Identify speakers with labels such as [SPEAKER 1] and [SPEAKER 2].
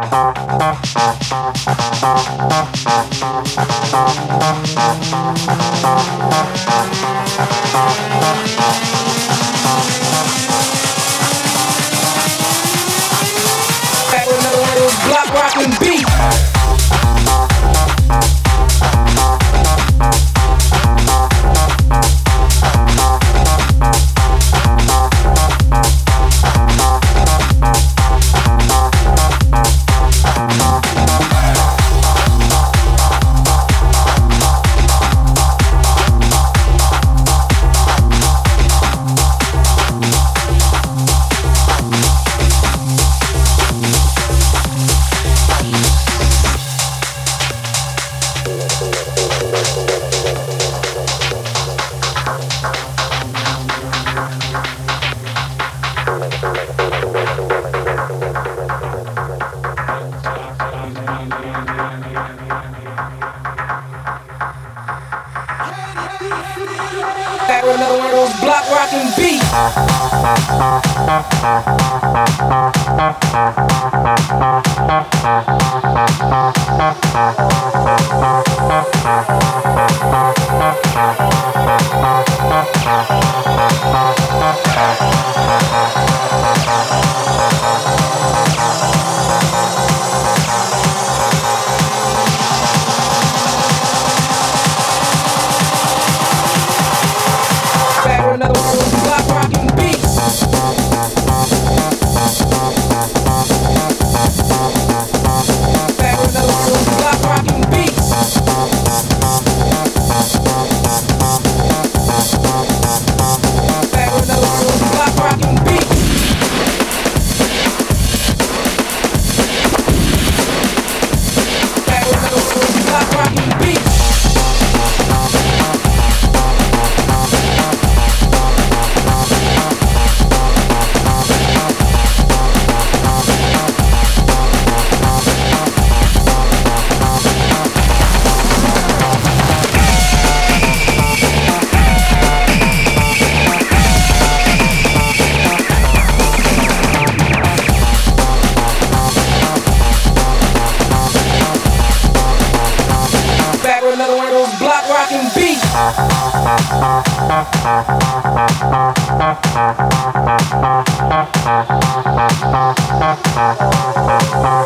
[SPEAKER 1] Back with another one of those block rockin' beats. Back with another one of those block rockin' beats. Back with another one of those block rockin' beats. Back with another one of those block rockin' beats. Back with another one of those block rockin' beats. Back with another one of those block rockin' beats. Back with another one of those block rockin' beats.